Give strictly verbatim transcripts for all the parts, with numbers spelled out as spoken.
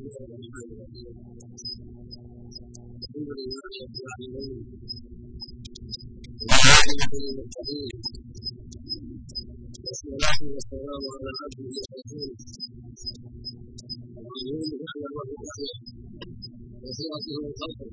والصلاة والسلام على عبده ورسوله وعليه على وجهه وسيرته وخلقه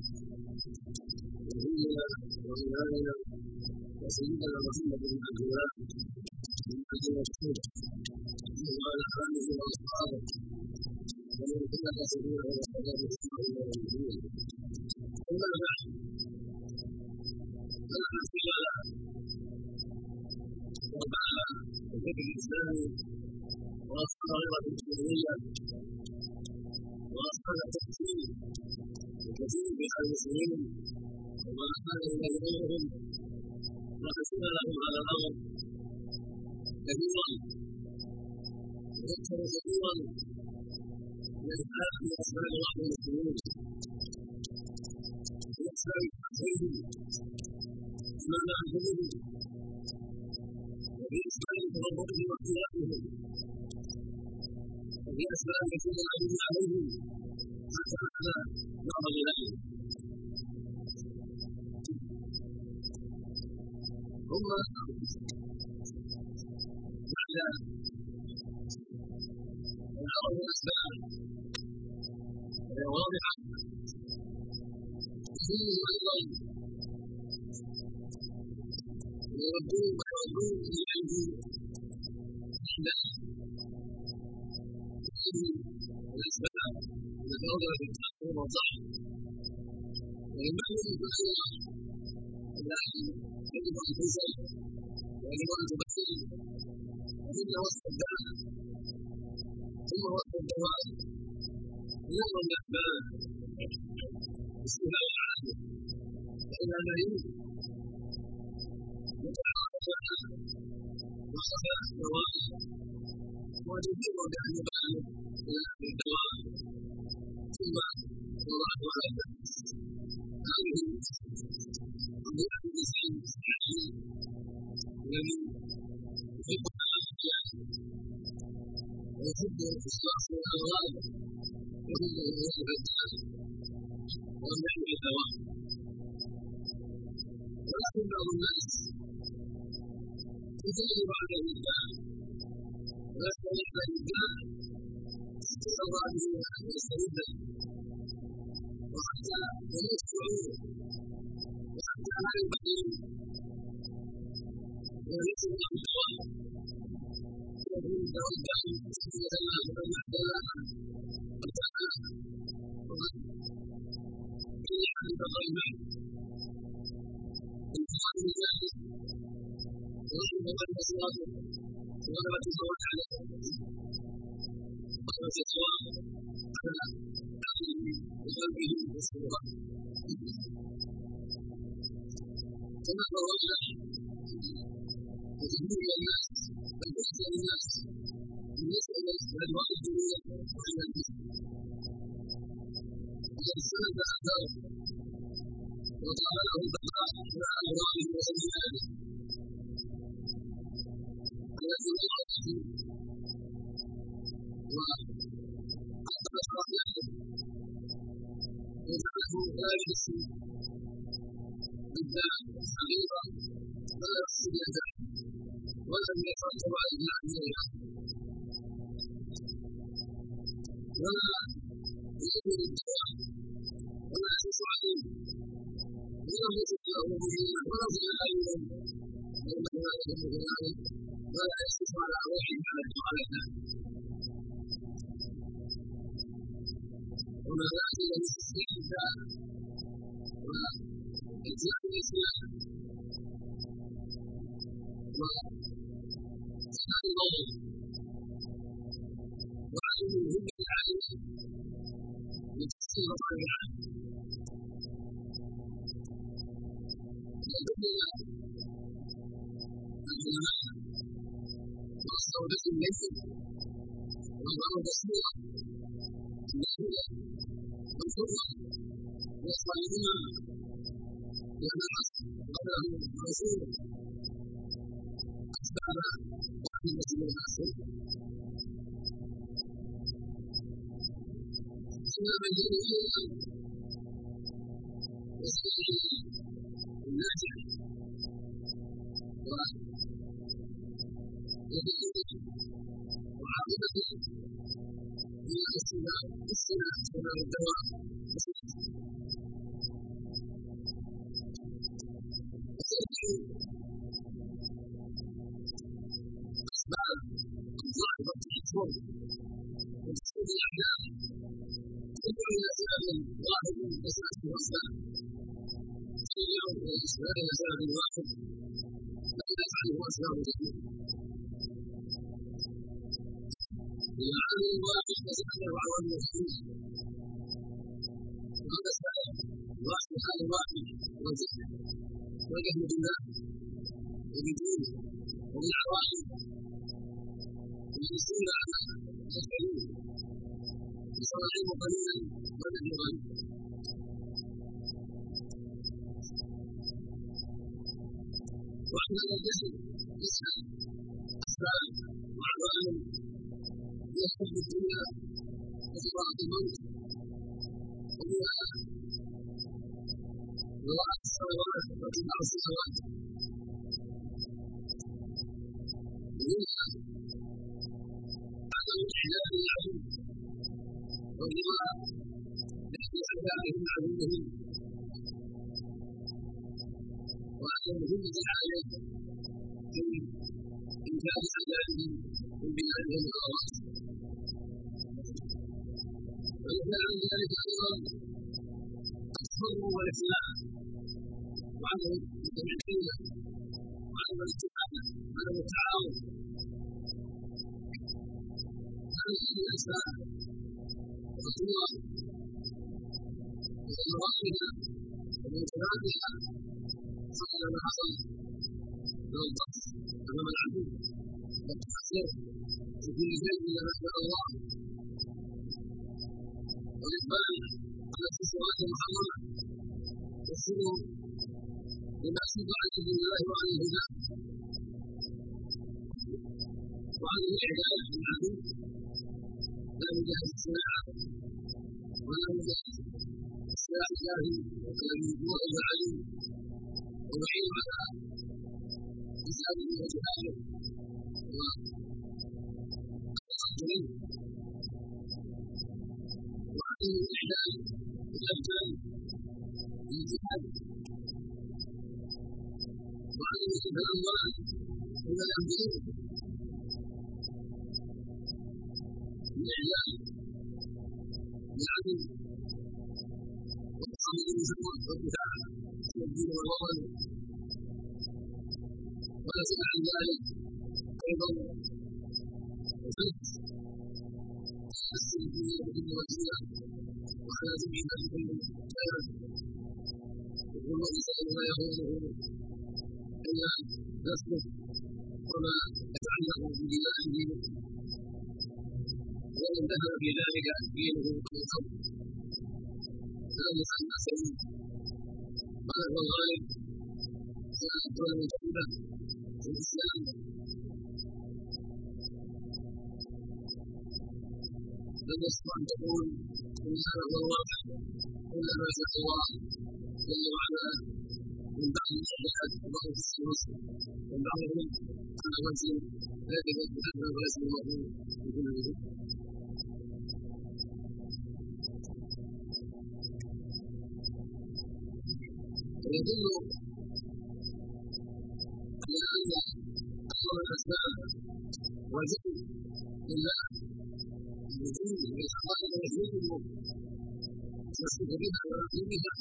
نبينا وإمامنا وسيدنا محمد بن عبد الله بن عبد الرسول وعلى آله وأصحابه ومن سلك سبيله واهتدى بهديه إلى يوم الدين. أما بعد فالأسئلة وبعد الفكر الإسلامي والصغيرة الإسلامية وأصحاب التفسير وكثير من المسلمين وما كان إليه غيرهم وحسن لهم على الأمر كثيرا ويكثر كثيرا من إسلام أسباب بعض المسلمين وإسلام أخيهم أمام أنفسهم وفي إسلام تربطهم واختلافهم وفي أسباب يكون العدو عليهم حتى على بعض بلادهم. ثم بعد الأمر الأسباب وهي واضحة فيه أيضا ويردون ويردون إليه عند الأسباب المتوضعة في التأثير والضعف وينبغي كثيرا إلى أن يجب أن تنزل ويجب أن تبين وثم وصف الداء ثم وصف الدواء نوع من الأسباب استفاء عنه فإن الذين يتعرف عنه وصف الدواء وتجيب بأن يبان إلى الدواء ثم وضعه على الناس. هذه قضية الإنسان الصحيح الذي يحب الأشياء ويحب إصلاح الأمراض ويحب أن يصلح الداء وأن يحب الدواء. ولكن بعض الناس يجرب عليه الداء ويستمر عليه الداء حتى يرضى به أن يسترد وحتى يموت شعوره وحتى لا يبقي وليس له الدواء يكون الدواء الدائم سبيلا له ومن يحتاج وتعالى وقد قيل عن الغيبين الإنسان الجاهل ورحمه الله صلاته وغلبة الزواج عليه وغلبة الزواج على عقله وقلبه وسرورته. كما قررنا وكثير من الناس بل أكثر الناس بالنسبة للأدواء الدنيا وعلى الجسم وقد استند أثاره وطال له البقاء مع أمراضه وأجياله التي وقعت فيه وأخذت رحمته وجعله لا يحس بالداء حقيقة ولا يحس بالداء ولم يترتب على الداء إليها ولا يؤمن الدواء ولا يحس عليه ولا يحس له به ولا في العالم لأنه لا يحس بذلك ولا يحس على روحه على الداء وما ذلك إلى تسليم الداء وإجزاء الإسلام وإسلام الموت وعدم الهمة العالية لتسليم طبيعة وبين العلماء واستودة الليل وضرب الصورة النافلة والحرة والصالحين والناس قبله الرسول أسباب رحمة الله إلا من دونه وسبيل الناجح وعاقبته هي السنة السنة سنة الدوام وسبيل أسباب الظاهرة في الفرق وتسبيل الأحلام تدعو إلى سبب واحد أساس وأسباب تدعو إلى سبب واحد لا يفعله أسباب كثيرة العالم الواحد يتبع عوامل الحكمة وهذا السبب واحد هذا الواحد وجهه وجهه بالله وبدينه وبالعوائد وبالسنة على الكريم وصار العلم قليلا ونحن غني وأحنا الجسم يسأل أسباب وعوامل هي حب الدنيا وفراغ الموت وهي ضواعف الصلوات واتباع الصلوات ومنها عدم إحلال العلم والرضا باحتفالهم عدوهم وعدم همة عليه في إنجاز أعمالهم من بنائهم الخواص ويدل عن ذلك أيضا الصبر والإسلام وعدم التمكين وعدم الاتفاق وعدم التعاون هذه الأسباب والصور ومراحلها ومنكراتها حصل ما حصل من الضعف أمام العدو والتأثير في كل شيء إلا ما شاء الله والإقبال على الخطوات المحرمة والسلوك لما شرع عن دين الله وعن الهدى وعن الإعداد للعدو لا مجاهد السلاح ولا مجاهد السلاح الجاهل الذي هو العليم ويعين على إسلامه وجهاله والتقديم وعدم الإحلال بالأبدان بالجهاد وعدم الأموال من الأنبياء الإعلان بالعدل والتعامل بالجمع والدفاع عن الدين والوطن ونزل عن ذلك أيضا وفلت تحسن الدنيا بكل وسيلة وعلى جميع بكل خير يقول الإنسان ما يهونه إلا نفسه وما يتعلق بدمائه ومن ذهب في ذلك دينه من قبل فلم يسأل سيد قال هو الغالب كانت الدولة المنتخبة في الإسلام لم يستطع أن تقول إن هذا هو الواقع إلا ما شاء الله جل وعلا من بعد الإعداد وبعض السلوك من بعضهم على وجه لا يجب أن وليس الموضوع بكل وجه ويدل على أن أصل الأسباب والذكر لله الوجود والحقائق وحدوده تصدق بها ويقيمها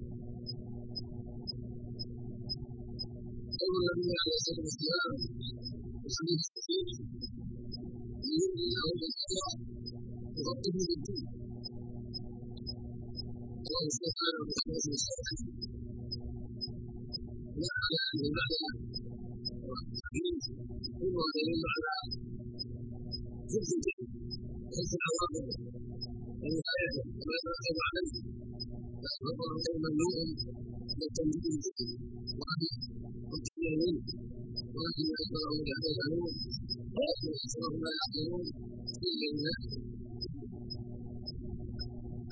قول النبي عليه الصلاة والسلام وحديث الصحيح من يؤمن الله بالقضاء يغطيه بالدين الله سبحانه وتعالى بالصالحين لا على أن المعنى والتحديد هو دليل على زبدة ليس العواقب ونهايته وما يترتب عليه فأخبر غير ممنوع من التنجيل وأهله والتحليل منه ولكن أكثرهم لا يفعلون ولكن أكثرهم لا يعقلون إلا الناس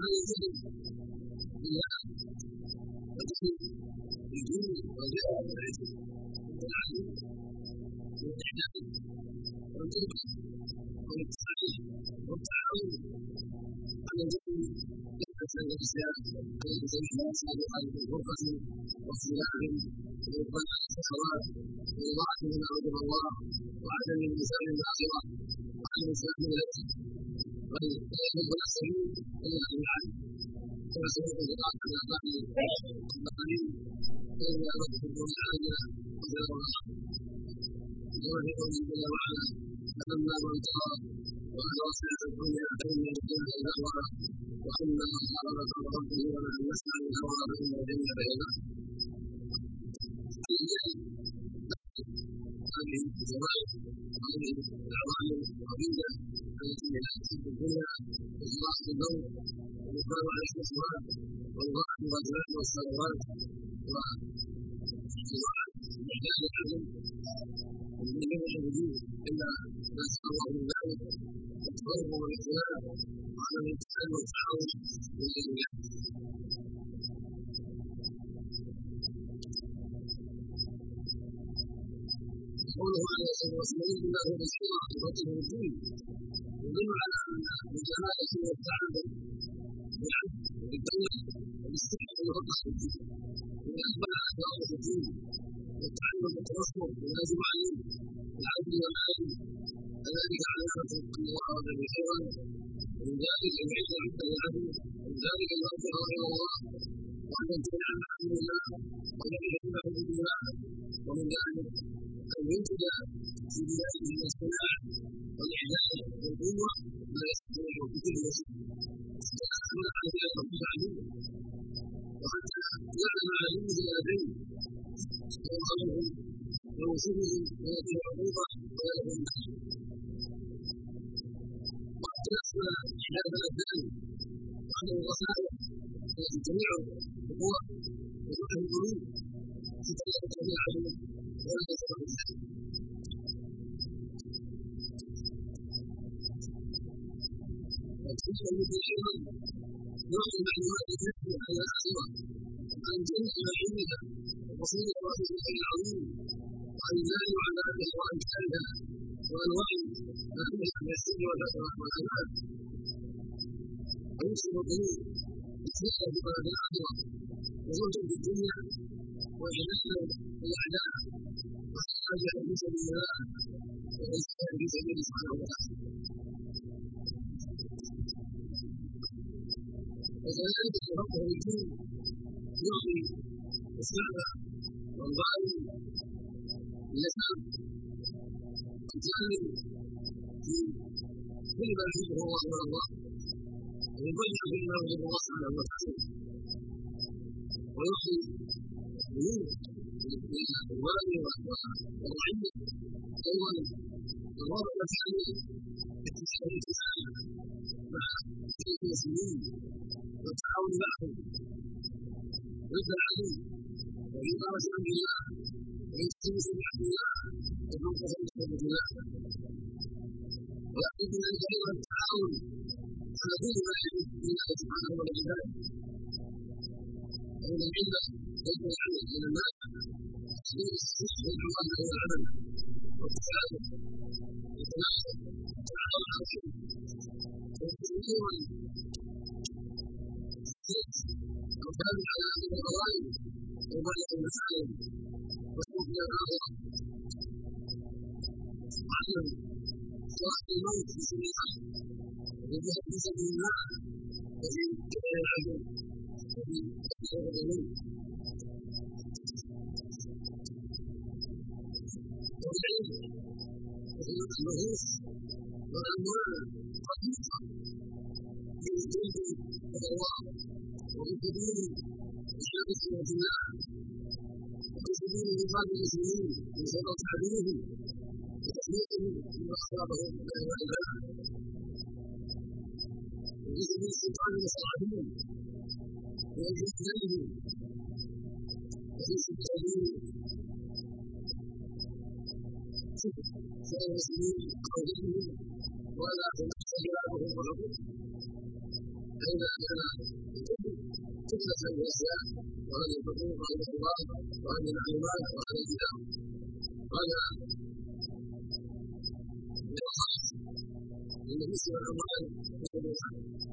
ما يجب إلا الدين الدين والجهل والعلم والعلم والإعداد والتوبة والتصحيح والتعاون على الدين يحدث الإسلام على سبيل المسجد على الغرفة والصلاح والربنا الصلوات والوعد من عبد الله وعدم الإنسان الآخرة وعن الإسلام التي بل لا يحب السبيل إلا بالعدل كما سبق القرآن على بعض المقاليد إلا ربكم وجعلنا وخير الرحمة يوافق جل وعلا فلما من ترى وأن وصية الدنيا فإن الدنيا الأخرى وأن الحرارة ربه ومن يسمع الهوى فإن الجنة بينه هذه الزواج وهذه العوامل العظيمة التي تأتي في الدنيا إخلاص الموت والإقبال على الشهوات والوقت والزواج والصلوات وإعداد العلم ومن جميع الوجوه إلا ما شاء الله من ذلك والتقرب والاختلاف وعلى الامتثال والتعاون بين الناس. قوله عليه الصلاه والسلام الله بشيرا بفضله الدين يدل على ان الجلاله والتعبد بالعبد وبالدوله وبالصحه والرقص في الدين اذا اقبل على كرامه الدين والتعلم والتوسل والواجب عليه العدل والعدل فذلك علامه ان الله اراد به خيرا ومن ذلك ان يعز عبد العدل ومن ذلك ان يرجع الى الله وان يمتنع عن حكم الله وان يحب حدود الله ومن ذلك أن ينتج في بلاده الصناعة والإعداد والقوة ما يستطيع بكل وسيلة فأحمل على ذلك رب العالمين وحتى يعلم على يوجد الأبين ويرغبهم ويوصفهم ويأتي العقوبة ويأتي النحل وحتى يحصل إعداد الأبدان وعدم الرسائل التي جميع القوى وجميع القلوب حتى لا تستطيع عليهم ولا يستطيع ذلك. وتلك التي ايضا نوع من معلومات الفقه على الاخره عن جميع ما علمها وقصيده رحمه العظيم وعن النهي عن هذه وامثالها والوعي ما فيها من السر والفتوى والكلام ويوصل القلوب بالسيره بما في الاخره وزهد في الدنيا وإعداد الأعداء وإخراجها في سبيل الله وإرسالها في سبيل سبحانه وتعالى. وكذلك ربه الدين يعطي الشعب والظالم اللسان الجاهل في كل ما يحبه الله والله ويضيع فيما يحب الله سبحانه وتعالى ويعطي القلوب للأموال والرعية أيضا الرابط الثاني التشريع مع المسلمين والتعاون معهم ضد العدو وإقامة أمر الله وإقامة نعم الله والمنقذ من حكمة الله ويأخذ ذلك أيضا التعاون على كل ما يحب الله سبحانه وتعالى ومن العلم يجب العمل من الناس تحديد الصدق والعمل والعمل والتعاون والتناصر والتعاون على الخير والتنوير والصدق والكلام على اهل الغوائب وبلغ المسائل والصوت الى الاخره وعلم صلاح الموت في سبيل الله والجهاد في سبيل الله وفي كفايه العدو وفي كفايه الغلو والعلم وفي النفوس والاموال خفيفه في الجلد والارواح وفي سبيل الشرك والجماع وفي سبيل انقاذ المسلمين من شر عدوهم وتحميهم مما اصابهم من العذاب وفي سبيل سلطان مصالحهم وإجلالهم وفي سبيل سائر المسلمين وغيرهم ولا تنقص خلافهم وحقوقهم أين فتنة للإسلام وعن الحقوق وعن الحوار وعن المعلومات وعن الكتاب هذا بالأخص إن مسلم الأموال مسلمها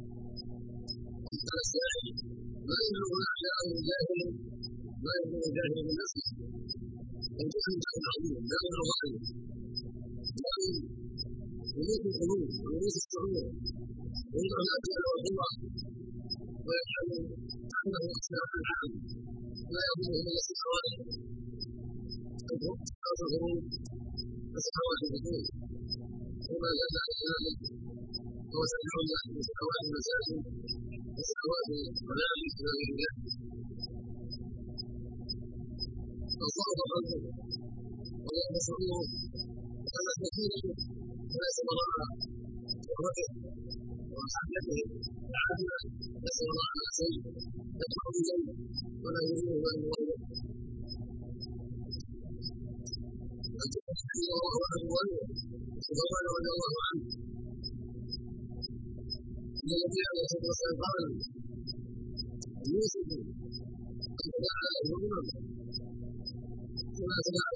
السائل ما يبلغ أحياء الجاهل ما يبلغ الجاهل من نفسه الجهل شيء عظيم لا يبلغ غيره لكن ملوك القلوب وملوك الشعور ويضع الأجل والحوار ويجعل عنه أسباب العالم لا يظن إلا السحوات الغروب السحوات الغروب وما زال ذلك هو سمعنا من سحوات المساجد وسحوات الملابس وغير ذلك فصار خلقه ولا يشعره كما كثير وليس وراء شهرته وحاجته لعل نسأل الله على شيء يدفع اليه ولا يريده ان يغيره فجاء وهو الولي سبحان رضي الله عنه ان النبي عليه الصلاه والسلام قال يوسف ان دعا الامم كما سمع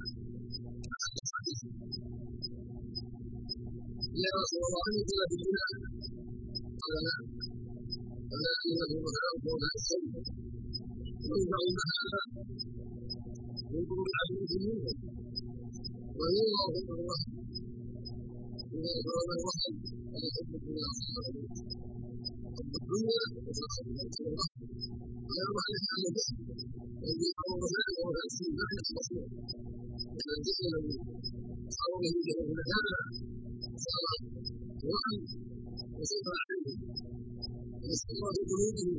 يا رسول الله انت في الدنيا قال نعم قال انه مثلا قول الشيء ينفع هذا ينظر العبد منه وينظر في الوحي اذا قال الوحي ان يحب الدنيا وصحبه حب الدنيا وصحبه الوحي ويرضى عليه عن الجسم وان يقرب ذلك وهو الشيء لا يحصل لان الجسم الذي صار به جهل هذا صار وحي وصدر عليه واستقر في قلوبهم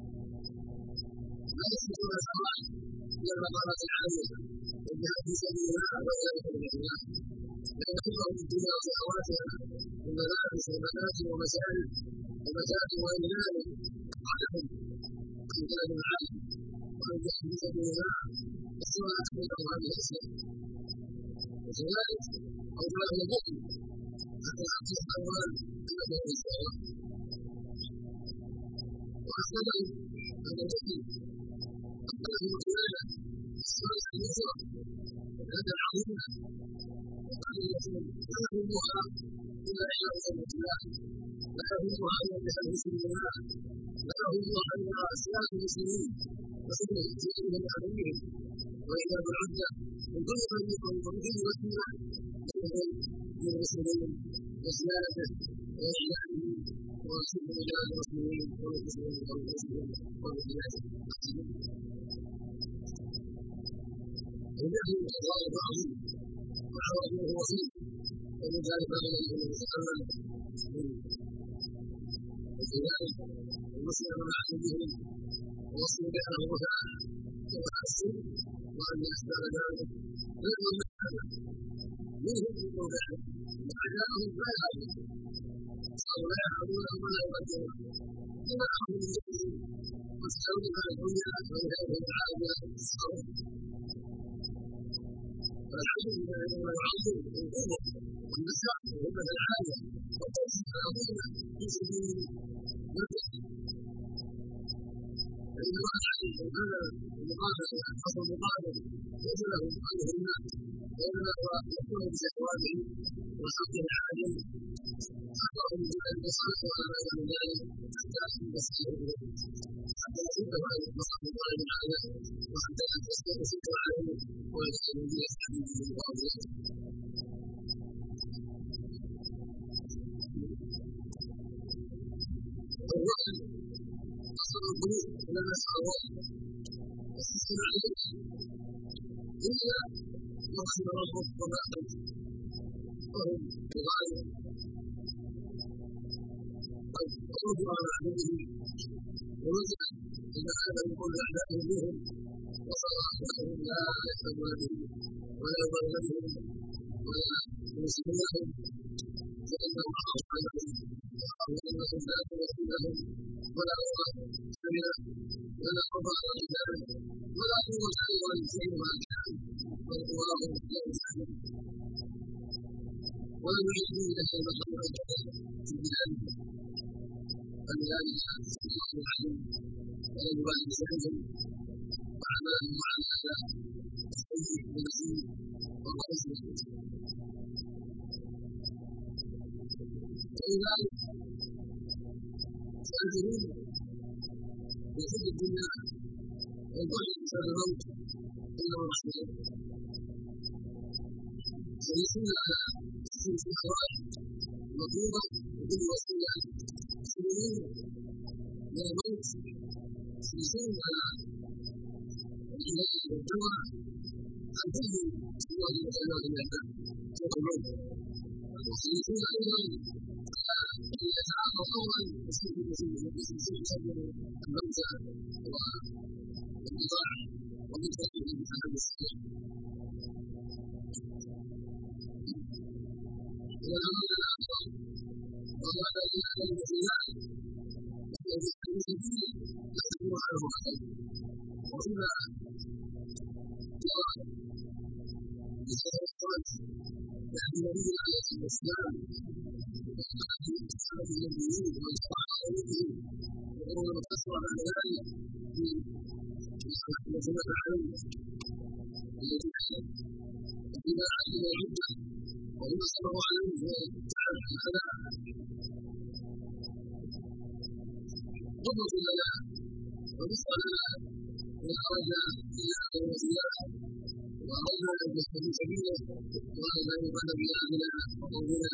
لا يستطيعون الحرام الى المقامات العاليه والجهاد في سبيل الله وذلك بالاخلاق لان حبهم في الدنيا وشهواتها من ملابس ومنازل ومساجد ومساجد وغير ذلك عليهم عن كلام العالم وعن جهاد في سبيل الله الصلاه بينهم هذه الاشياء وكذلك اوجاع البخل حتى يعطي الاموال كما في الاسلام وأحسن أن المسلم أقبله وكلاله الصالح اليسرى والهدى العظيمة وقال المسلم لا يهمها إلا إحياء سنة الله لا يهمها إلا جهاد في سبيل الله لا يهمها إلا إسلام المسلمين وسنة سيدهم وأميرهم وإيجاد العدة من كل من يقوم بمثل وسيلة لهم من المسلمين وزيادته وإعلانه وشكر رجال المسلمين والمسلمين والمسلمين والمسلمين النبي الله عظيم وعظمه وفيه ومن ذلك قال النبي صلى الله عليه وسلم وكذلك المسلم مع اهلهم ووصل بأنه تعالى وأحسن وأن يحتاج ذلك غير من هذا منهم في موضعه وعجائهم لا يعلم أو لا يعلمون ولا يقدرون لما أخذوا من جهلهم وسألوا عن الدنيا وإلههم تعالى الصبر فالحمد لله لما يعظم القوة والنشاط والهمة العالية والتوفيق العظيمة في سبيل الملك فإن الله عليه وكان المقابل حصل المقابل ليس له أنه الناس وإنما هو يكون بشهواته وحقه عليه حقه من ذلك صلاه ولا غير من ذلك حتى يستطيع حتى يصده عن مصلحه الله تعالى وحتى يصده عليه ويجعل به يستعين به وأولياءه الوحي أصل القلوب إلى نسأل الله والسلام عليه إلا يرحم ربه وما أنت وهم بغاية قد قربوا على عبده ونزل إذا هذا من كل أعدائه بهم وصار أحدهم لا يحتمون به ولا يضل بهم ولا ينسب لهم فإنه خاف عليهم وخاف أنهم لا يكون لهم ولا الله سمع ولا قضى على ذلك ولا قوة أيضا شيء ما كان والله لا يسلم ولم يجدوا له مخرجا في بلاده ذلك الله العليم ولم يبالي بذنبهم وأعمالهم مع الأعداء السيء والنسيء والرئيس ولذلك يعتبرون بحب الدنيا والبعد بسبب الموت إلا ورحمته ويصون على تسليم الشهوات مطلوبة وكل وسيلة يسلمون من الموت يصون على الإله والجوع عن كل سواد وخيرات الأعداء سوى الموت ويصون أيضا أن يتعاطى قولا يسلم يسلم الموت والنزاع ومن تأكيد الإنسان الصحيح والأمر الآخر وهو الذي يعلم في ذلك الذي يعلم به لا يكون عنه خير وإذا جرى بسبب الصلاة يعني النبي عليه الصلاة والسلام وقال أصحابه النبيين ومن صلح عليهم وقول مقتصر على ذلك في سنة عليه التي إذا علم العدة وهو صلى الله عليه وسلم هذا قدوة لنا ونصر لنا إن أردنا إياه وإياه وأردنا أن نستبين سبيله وأردنا أن يقال بأهلنا وقومنا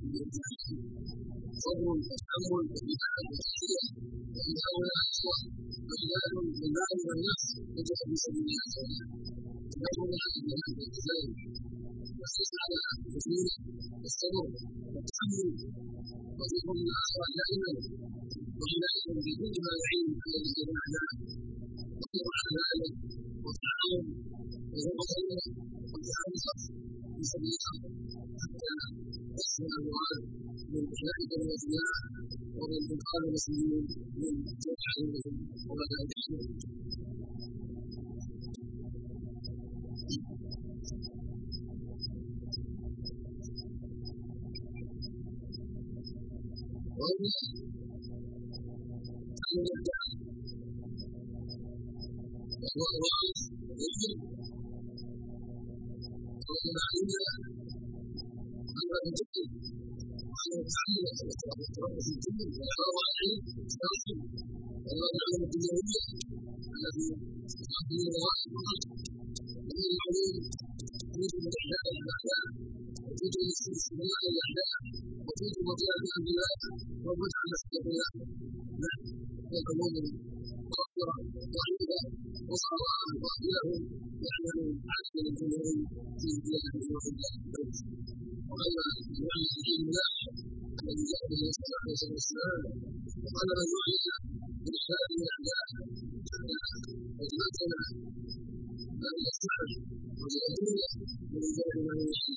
صبر وتحمل واتباع وتحية وإن هؤلاء إخوة وعباد من مال والنفس يجب في سبيل الله تعالى نحن نحن بهذا الالتزام والحرص على التسليم والصبر والتحمل وذكر الآخرة دائما وعناية بكل ما يعين على الاجتماع وصبر على ذلك والتعاون والمصلحة والتعاون في سبيل الله حتى يحصل المراد من أولئك الأولياء ومن إنقاذ المسلمين من جمع عليهم ومدافعهم. وهنا أن يدعى وهو الرئيس والعلم والمعلومة أمر الجد وأن يتعلم ويتربى في الدين ويحافظ على العلم والتعلم وهو العلم الدنيوية الذي تقدم الغاية فقط وهي العلوم توجد إحداث الأعداء وتوجد استثناء الأعداء وتوجد مطيعة البلاد ومتعة الاختلاف نحن العلوم مؤثرة ضعيفة وصار باطلهم يعمل عدد الجمهور في بلاد وبلاد البلد وأما الوعي في علم الله الذي جاء به صلى الله عليه وسلم وقال من وعي بإحداث الأعداء وجمعتنا أن يستعد ويأتينا من ذلك ما يشاء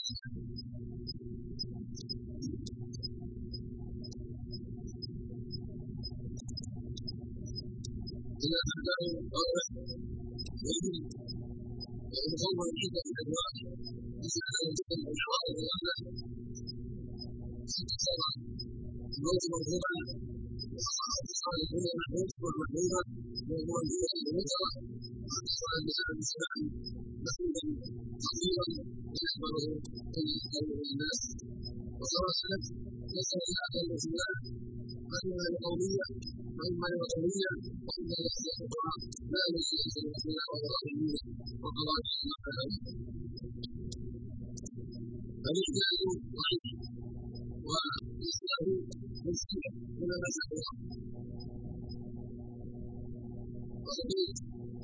إذا أحدثوا قولا يجب أن يصور عدة أنواع يسعى أن تكون الحوائط الأعلى ست سبع الموت مرفوعا واتصال الدنيا محمود والمحمودة موضوع الدنيا المنكرة واتصال بسبب السلام مسؤولا خطيرا يحضره كل قوم الناس وصارت نسأل الله جل وعلا وإما لقومية وإما لوطنية وإما لأسياء أخرى لا نريد أن نكون وراء وقواعد المحال فالإحداث ضعيف والإسلام مسلم كما ما شاء الله وقليل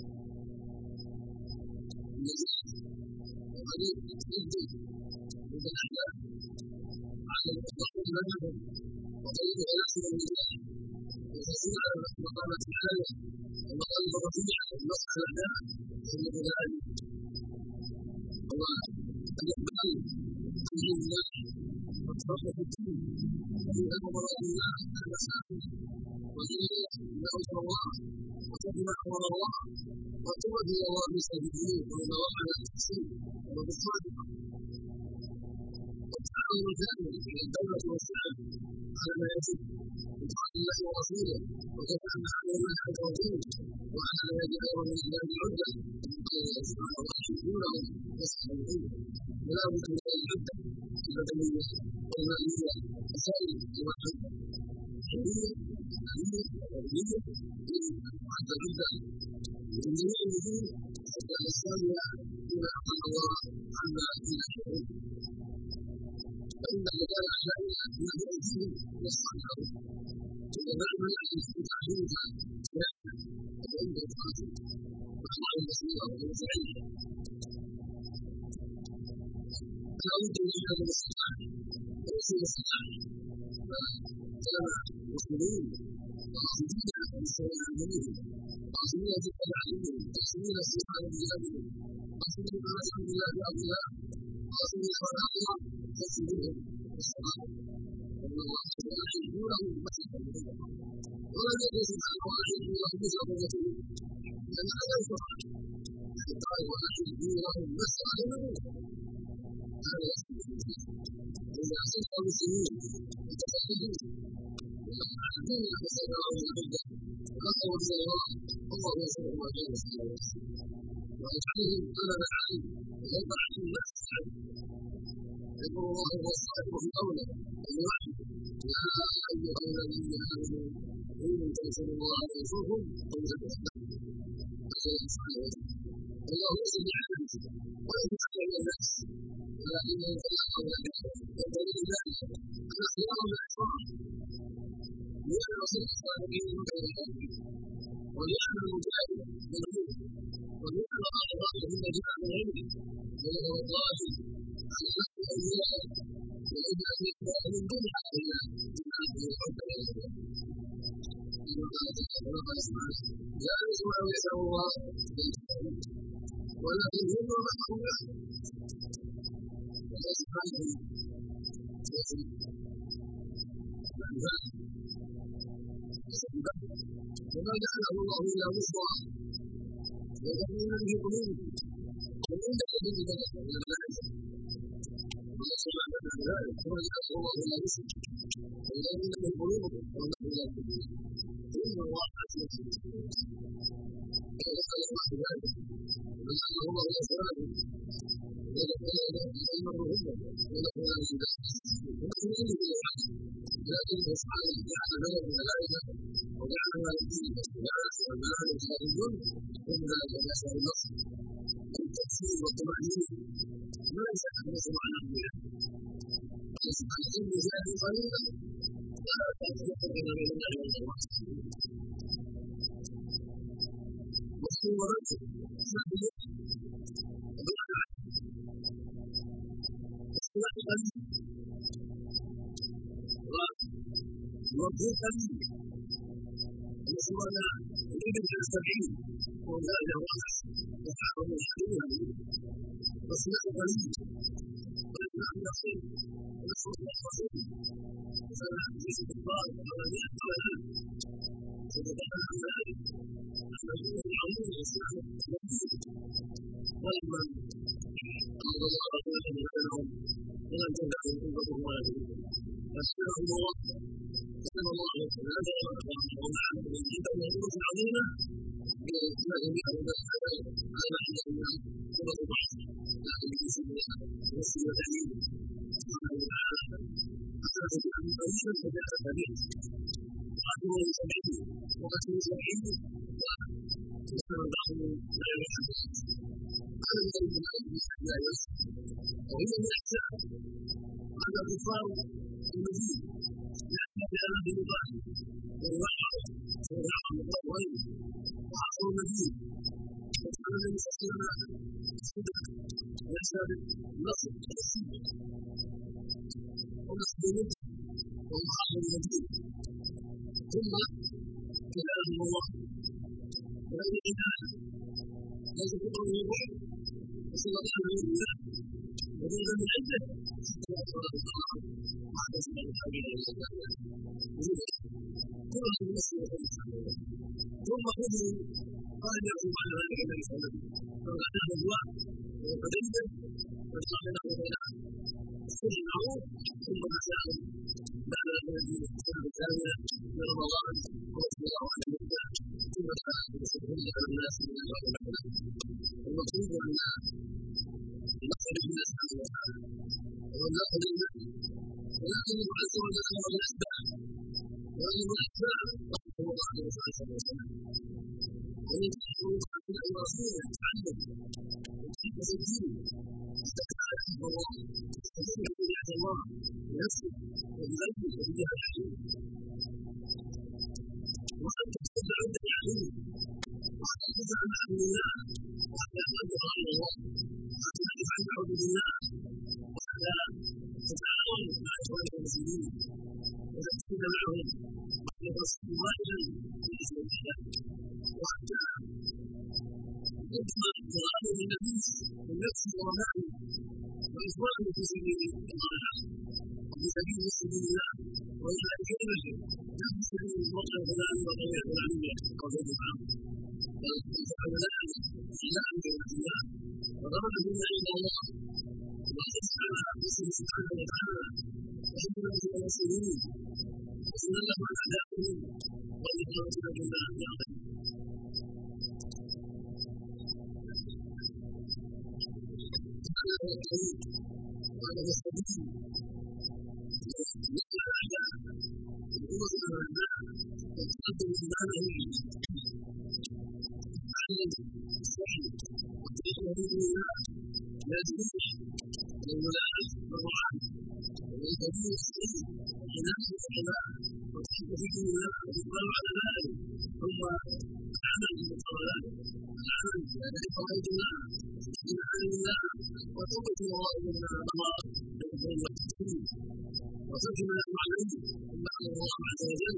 النزيف وقليل جدا من الأحداث على المتفق منهم وقليل ثلاثة من الناس وتسير على مقامة الحالة ومقام الرفيع ومسح الأعداء فإنه ذلك هو الإقبال في الله والتفرق في الدين وفي أمر الله المساكين وإليه نعوذ الله وتبنى أمر الله وتؤدي الله سبيله ومواقع التحسين وبالصادق الامر الثاني من الدوله والسلام على ما يجب من طاعه الله ورسوله وكيف ان علينا ان توجيه وعلى ما يجب ايضا من اهداف العده من قول الله سبحانه وتعالى يحبونهم يسالون ولا بد من العده البدنيه والماليه وسائر الواحد الحريه العلميه والقوميه حتى العده من جميع الوجوه حتى نستمع بما قال الله عما فينا شعور فإن مكان أعدائنا من بأيديهم يصنع لهم وما منع من تعليمها سياسة وعند القاتل وأخبار المسؤولة والمساعدة لا بد من هذا الاستطاعة وليس الاستطاعة فكان المسلمين قاصدين بسبب عملهم قاصدين بسبب علمهم قاصدين استيقاظ بلادهم قاصدين بنصر بلاد أرضها قاصدين صلاحها تسليمهم والصلاة وأن الله تعالى يحبونهم ويحبونهم ولم يكن سبحانه وتعالى يحبونهم بسببته لأن هذا الفرق قال ويحبونهم ويستعلمون هذا يحبونهم إذا أصبح المسلمين متفقدون ويعلمون فسيرون العدة وقالوا إلى الله الله يسأل ما كان يسأل ويجعلهم أمام العلم ويضع عنهم نفس العلم يقول الله هو الصادق في قوله الواحد يا أيها الذين آمنوا إن تنصروا الله ينصركم ويثبت الله يسأل عنه وليس على الناس ولكن يتلقى ذلك ودليل ذلك أن خيار الأحرار لأن رسول الصالحين من غيرهم ولأن المجاهد مذموم ولأن بعض الرأي من جاء من غيره وهو الظاهر على نفس الأولياء وإن أن يكون من دون علينا بما أنه يحب إليه كما قال تعالى وقال سبحانه لا يسمع ويسع الله ولكن هم ومنهم له وقال سبحانه وما جعله الله الا بشرى وتطمئن به قلوبكم وان الذين كفروا من الملائكه وما سمعنا من ذلك وما جعله الله الا بشرى وتطمئن به قلوبكم ونحن لا نؤمن ان الله عزيز كما قال الله ذلك وما جعله الله الا سبحانه وتطمئن ونحن لا نؤمن ونحن لكن سبحانه جعل له الملائكه وجعل ما يدين الناس والملائكه خارجون من ذلك يسال النصر التفسير والطمانينه ما ليس الناس مع الانبياء سبحانه ان جاءه قليلا ولا تفرق بين الله والرسول مسلم ورجل سبب الصلاه قليل والظهر قليل وصلنا إلى السبعين وزاد وقع وحرم الحلول والصلاة قليل والإمام نصير ونصر الرسول فلا يجب الضار وغنية ولا فتبقى عن ذلك أن يكون العموم الإسلام مبين ولما قال الله تعالى بينهم ولم تدعوا قوة والدهم فاستغفر الله صلى الله عليه وسلم ومع المسجد والنصوص العظيمه بما جميع الناس على ما حدث من قوه البحث لكن بسببها نفسي وتعليمه سبحانه وتعالى فكانت الامر قليلا فجاء كبير قاتلوا لسبعين وقتلوا سبعين وكان بعضهم لا يحدث هذا من الملائكه لا يصح وهي من الاحسان ان الكفار المدين يحتاج الى بلغات والوحي والرحم والطويل وعصر المدين وكان النبي صلى الله عليه وسلم صدق ويشهد النصر والسنه ومسلمين ومعاصر المدين ثم كلام الله وغير عنايه ليس بقول الوحي وصلى الله عليه وسلم وجوزا من عنده حتى يقرا الله واعتصم بالحبيب الى الله كل المسلم ثم خذوا قال يعقوب على ذلك النبي صلى الله عليه وسلم فبعد الرضوان وقدمه وجعل له بينه كل معروف ثم مسائل بعد الذي السنه الثانيه من رمضان ورسول الله عليه وسلم ثم مسائل يستدل على الناس من الله وحده. المقصود ان نقل الناس سبحانه وتعالى ونقل الناس ولكن الله عز وجل امر الاسباب وان الاسباب رحمه الله عليه وسلم ومن الحقوق عن رسوله تعلم وتحفظ الدين استقبال حفظ الله استقبل شريعه الله بنفسه وبقلبه وبجاه الحليم وان تستمع عند الحليم وحتى تدع مع الله وحتى تنظر الى الله وحتى تعرف عن حدود الله وحتى تتعاون مع اخوانك المسلمين وتقصد معهم وحتى تصل واحدا في اسم الله وحتى تضمن تغامر النفس والنفس ورمائه واخوانه في سبيل الله وفي سبيل سبيل الله والى كلمته لا في سبيل المرء فلان وغير فلانيه او غير عام بل فعلان اعلان كلمه الله وغرض بما عند الله وحرص على اسمه سبحانه وتعالى وحكمه المسلمين وسنه عن اعدائهم والاقامه بالله يعظم. هذا هو الطريق وهذا هو السبيل مثل الاعداء القوه الاعداء والتقدم امامه تعلم الصحيح وطريق باذن الله لازمين للولاء والرعاه والكبير الصحيح والعنايه والحمايه وتحب في دين الله والاقبال على ذلك ثم العمل بالمقابلات العمل باداء فرائض الله بالايمان بالله وتوبه الله مما مضى من الخير والتسليم وترك ما يقع عليه مما امر الله عز وجل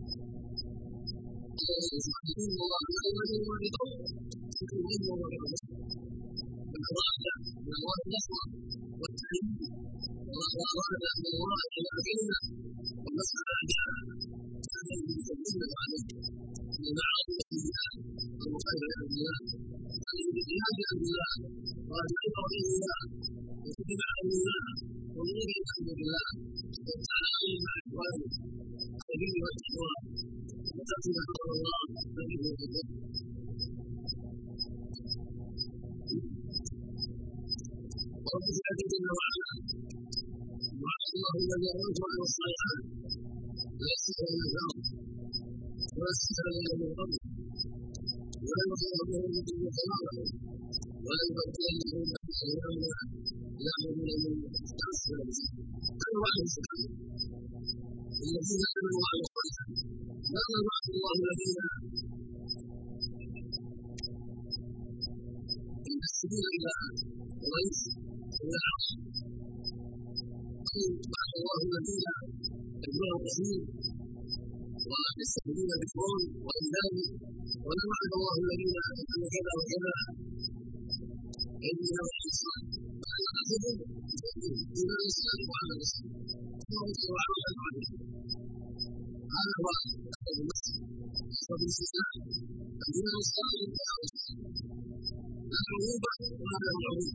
يستحقون الله بأوله وبقوله شكر منه وبركاته والأراد من الله النصر والتعليم وأراد من الله إلى كلمة والنصر أعداء كان يتكلم عليه من معاصي الله ومخالفة الله الجهاد عن الله والعبر به الله وكتب عن الله والنور الحمد لله والتعاون مع إخوانه السبيل والتقوى وتأتي أمر الله فإنه يتقى رب العزة جل وعلا وعد الله الذين آمنوا الصالحات لا يستحق من الأرض ولا يستحق من الأرض ولا يخافهم من الخلاق ولا يبدلنهم من أيامنا يأمرون بالمعروف هذا وعد سبحانه الذين آمنوا وعملوا الصالحات ماذا وعد الله الذين ينسبون إلى قريش وإلى العرش وعد الله الذين يتبعون الرسول ويستقبلون بفرعون وإنذاره ولا وعد الله الذين يفعلون كذا وكذا إننا والإنسان فأنا أعتقد إلى الإنسان وعلى الإنسان وعلى العالم هذا هو أكبر المسجد أكبر الاستثناء الدين الصالح لا عقوبة ولا معروف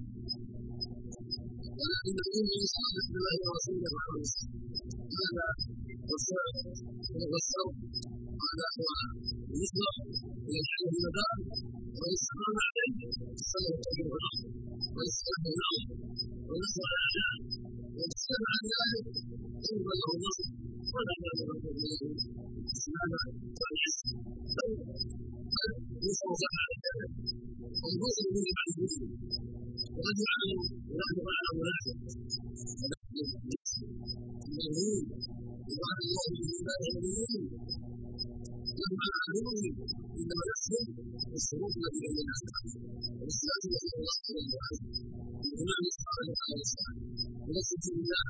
ولكن الدين الصالح بالله ورسوله محمد هذا هو السبب وهو السبب وهذا هو المصدر من الحل المدار والاستقامة عليه السلام الطيب والرحمة والاستقامة النعم والنصر على الأعداء والاستقامة عن ذلك ثم له النصر ولا يعلم به الإسلام والعز بل نصر سبع على والبطل من المعلومين وقد يعلم ونحن على منافق ونحن المؤمنين وعد الله بالعباد المؤمنين لما عدوه انما يحصل الشروط التي بين الاسباب والصلاه التي الله عليه وسلم الامام صلى الله عليه وسلم ونفسه بالله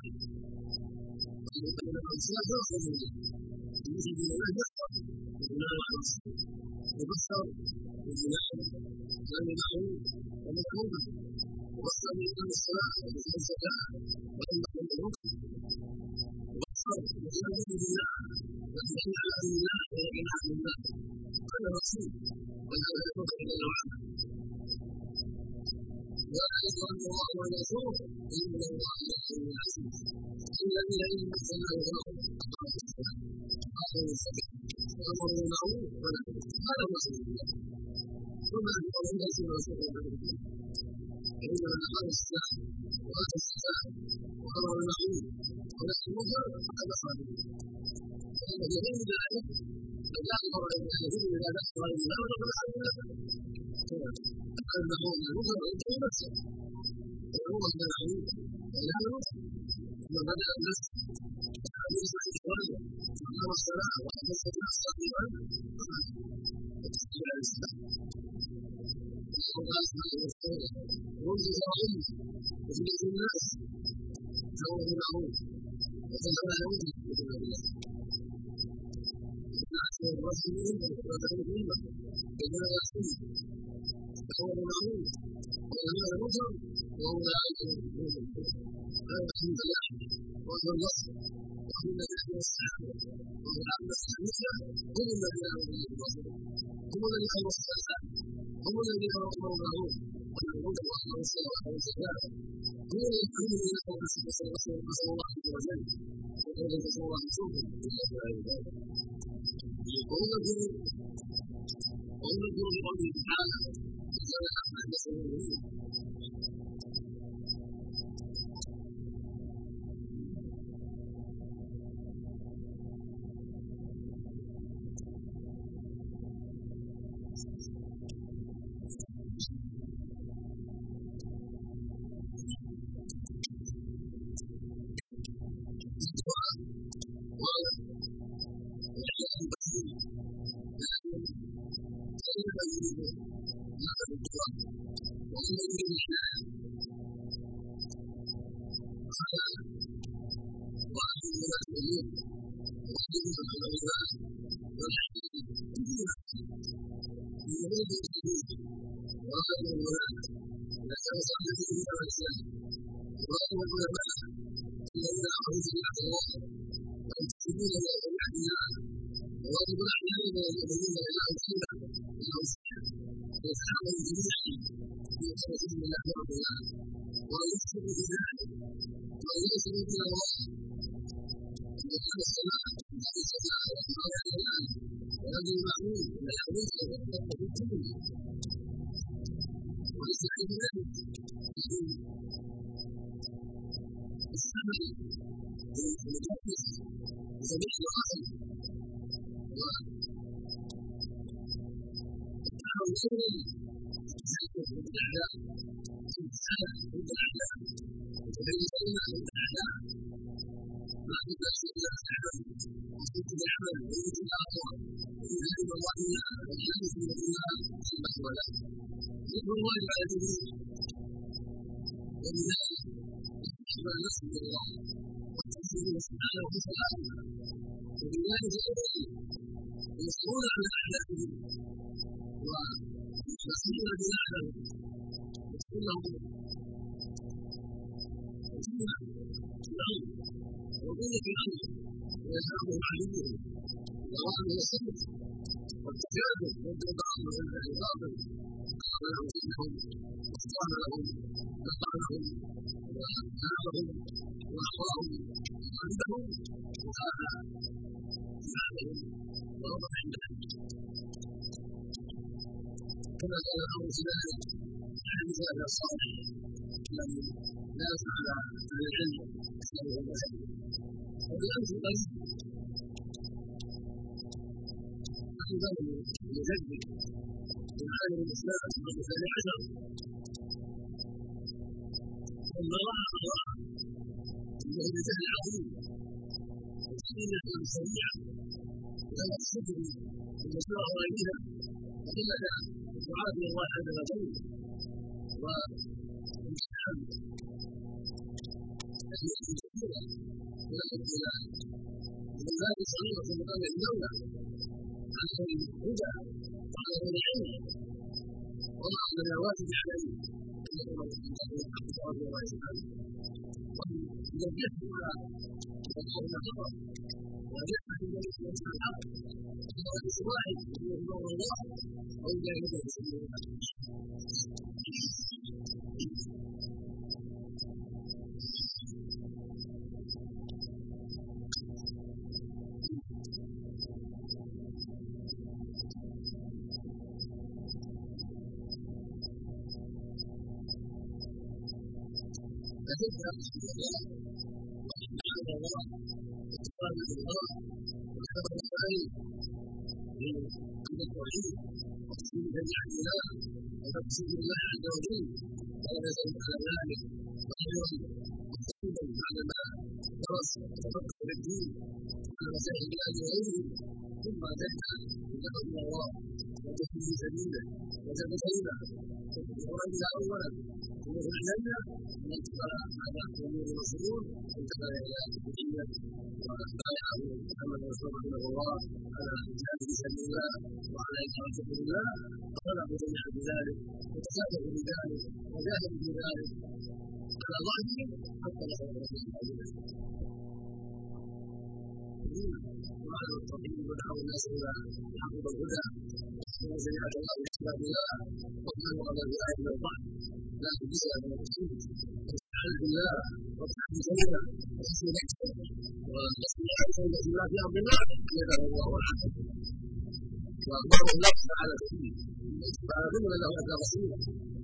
الصلاه تاخذ منه المسلم بالله يحفظ الامام على الصلاه يبصر بالجنان كان معروف ومكروه وبصر بإقام الصلاة وبإقام الزكاة وإنه المعروف وبصر بإقامة بالله والدين على أمر الله واليقين عن الله هذا رسول وهذا يتوقع إلى العالم ذلك أن الله ورسوله إن الله لغفور عزيز الذين إن أرسلناه لهم أقاموا الصلاة وآتوا الزكاة وأمروا بالمعروف ونهوا هذا رسول الله وما أكبر الناس رسول الله إنما أقام الصلاة وآتى الزكاة وأمر بالمعروف ونهى المنكر فقد أصاب فإن في غير ذلك فلا أمر بالمعروف إذا دخل الإمام فقد أصاب أنه من المنكر وينتهي نفسه ويأمر بالمعروف وينهى المنكر ثم بدأ النفس بالنسبة لإخوانه وأقام الصلاة وآتى الزكاة صغيرا وتسجيل على الإسلام وقال سبحانه وتعالى وانزل رحمه وفي الناس فهو بالمعروف وتنهى عن المنكر وتؤمن بالله الناس والرسول وتدعو الأمة إنما يصوم فهو بالمعروف وينهى عن المنكر وأولئك هم المفلحون هذا حمد الله وهو النصر وحمد الله والسلام وهو العبد الصالح هم الذين آمنوا بالرسول هم الذين خلصوا الصلاة هم الذين أمروا بالمعروف والمنكر وأقاموا الصلاة وآتوا الزكاة هم الذين يقولون نسأل الله عز وجل وقال نسأل الله رسوله إلا في ذلك وأذكر وأذكر بقوله تعالى قال أحمد نسأل الله لابد ان تشكر الله وتحمد الله وتقال الله وتقبل الخير من التوحيد وتسليم جميع الله وتقصد الله عز وجل ولا يزال على ذلك خيرا وخيرا بعدما درس وتفقه في الدين على مسائل الله وغيره ثم اتيت الى الله وتسليم سبيله وتبتغينا وتقرب اولا ومثل الجنه من اتبع على امور المسلول وانتقل الى الدنيا وبايعه محمد رسول رحمه الله على جهاد في سبيل الله وعلى اقامه حدود الله فطلبوا جميعا بذلك وتكافئوا بذلك وجاهدوا بذلك على ظهرهم حتى نصر رسول الله وعلى التوحيد ودعوا الناس الى حقوق الهدى وجميعة الله بكتاب الله وكانوا على الولايه من الضعف لا تجزى من التوحيد واستعاذ بالله وتحدي سيئه وحسن نفسه والاستعاذ بالله في امر الله يدعو الله عنه واخبره الله تعالى فيه فاعلم له ان رسوله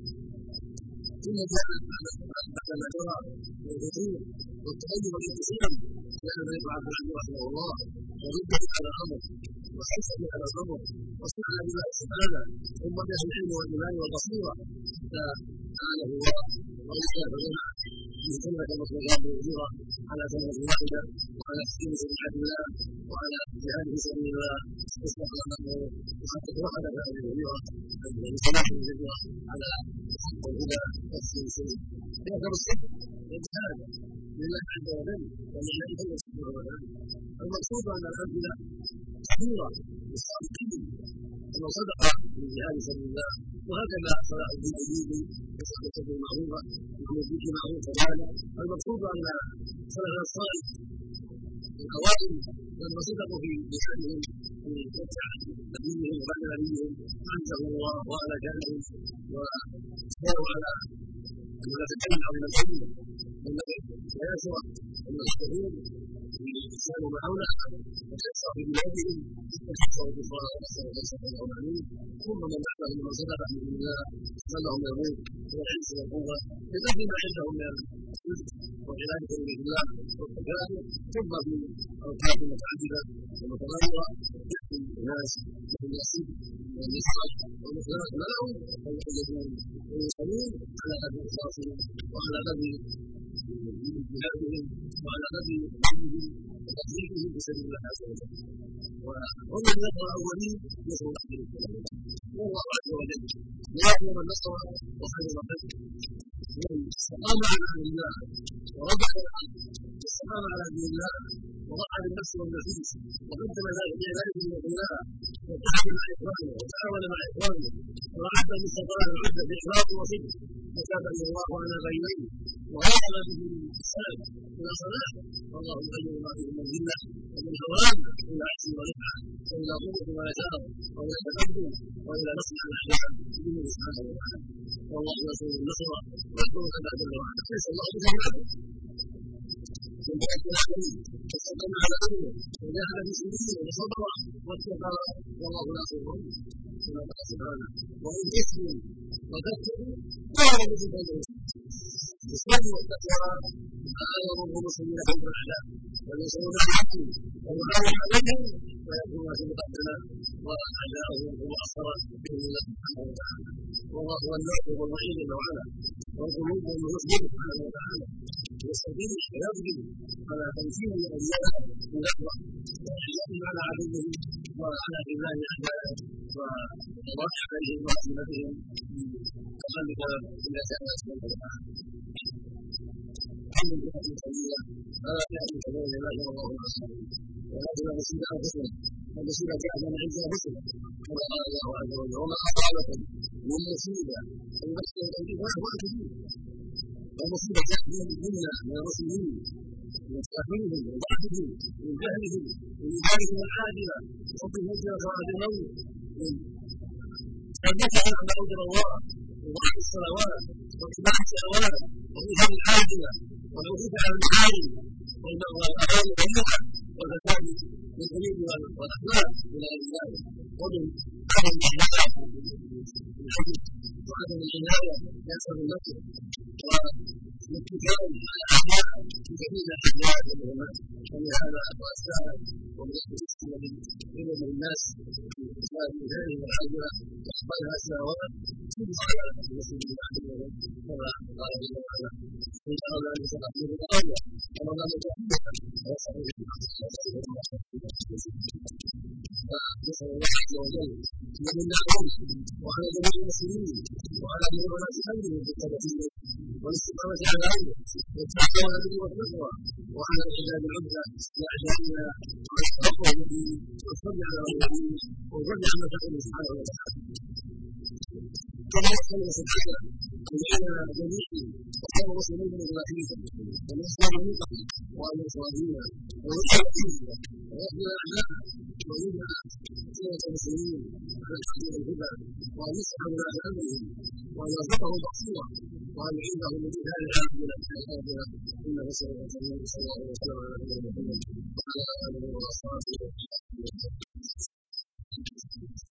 ثم جاء بعد ما جرى والفتور والتغير والانقسام كان ابن عبد العزيز رحمه الله ورده على الامر وحسن على الامر واستعان بالله سبحانه ثم به العلم والايمان والبصيره حتى اعانه الله وانشاه له في كلمه مطلوبات وزيره على كلمه واحده وعلى تسليم شريعه الله وعلى جهاد في سبيل الله واستقامه وحتى توحد هذه الوزيره بصلاح الوزيره على حق الهدى وتسليم السنه يذكر الصدق والجهاد لله عز وجل ولله سبحانه وتعالى المقصود ان الامثله كثيره للصادقين انه صدق في جهاد سبيل الله وهكذا صلاح الدين الايوبي وصدق بالمعروفه وعمل بالمعروف كذلك المقصود ان سلف الصالح الاوائل لما صدقوا في جهادهم في فتح نبيهم وبعد نبيهم عزهم الله وعلى جهلهم واصبروا على المنافقين او المسلمين ويسر المسلمين بالإنسان معونه وتكسر في بلادهم وتكسر الكفار ونسأل الله سبحانه وتعالى ثم من بعدهم من صدق بإذن الله صلهم يموت والعز والقوة بقدر ما عندهم من الصدق وعلاجة بإذن الله والتكافؤ ثم في أوقات متعددة ومتغيرة يحكم الناس مثل الصدق والنصح والمخلص معهم فيحيطون ويصلون على قدر إخلاصهم وعلى قدر جهادهم وعلى قدر علمهم وتطبيقهم في سبيل الله عز وجل وهم النصر الاولين نصر الاخرين والله عز وجل لا يامر النصر وخير الخير من استقام على امر الله ورجع واستقام على دين الله وضحى بالنفس والنفيس وقدم ذلك بعباده الله واتحد مع اخوانه وتعاون مع اخوانه وعد المستطاع العد باخلاص وصدق وتاب الى الله على بينيه وغفر به الاحسان الى صلاه والله يغير ما به من ذله ومن هوان الى عجز ورفعه والى قوه ويسار والى تقدم والى نصر الاحلام بدون سبحانه وتعالى والله يرسل النصر ويحكم كما جل وعلا ليس الله بجهاده من بعد العالمين وصدق على امره وجاهد في سبيله وصبر واتقى والله ناصره كما قال سبحانه وان تسلموا وتتقوا لا يجد بينهم الاسلام والتقوى لا يضر المسلمين حيث الاعلام وينصرون الحق ويعاون عليهم ويكون في مقدمه واعداؤهم هو اثر باذن الله سبحانه وتعالى والله هو الناصر والمعين جل وعلا والقلوب والمسلم سبحانه وتعالى يستطيع ويقدر على تمكين الاولياء من لحظه واحيائهم على عدوهم وعلى خذلان اعدائهم وقضاء عليهم وعزيمتهم بتخلف الى كان سبحانه وتعالى كل جهه قليله فلا تاتي كذلك لا اله الله ورسوله ولكن المصيبه انفسنا والمصيبه جاءت من عند انفسنا كما قال الله عز وجل وما اصابكم من مصيبه في نفس وانت فيه والمصيبه جاءت منا من المسلمين من كافرهم وضعفهم من جهلهم من ذلكم العاجله وحب الهجره وعد الموت من النكع عند قدر الله وضعف الصلوات واتباع الشهوات وإيثار العاجله والوقوف على المحارم والاغاني والبدع والفساد بالقلوب والاخلاق الى غير ذلك ومن عدم الاحياء بالحديث وعدم العنايه باسباب النفس والكتاب الأحياء في جميع الأحياء والعلماء ولهذا وأساء ومن المسلم من الناس في إسلام هذه الحاجة يحفظها سنوات ثم على المسلم كما قال جل وعلا إن شاء الله أن يتقبل الأول كما قال تعالى فنسأل الله عز وجل من النعمة وعلى جميع المسلمين وعلى جميع الأسلام بالتوحيد والاستقامة على العلم والتعاون به والتقوى وعلى العباد العبدة لأعدائنا والتقوى به والصبر على غيره والرد عما تقول سبحانه وتعالى كما يسأل سبحانه أن يجعلنا جميعا وخير مسلمين من إبراهيم ونسأل منكم وأن يصلينا ويسألنا ويغفر أعداءنا ويجعل سيرة المسلمين على الحديث الهدى وأن يصلح ولاة أمرهم وأن يرزقهم بصيرة وأن يعينهم من جهاد العالمين في حياتنا إنه سبحانه وتعالى صلى الله عليه وسلم على نبينا محمد وعلى آله وأصحابه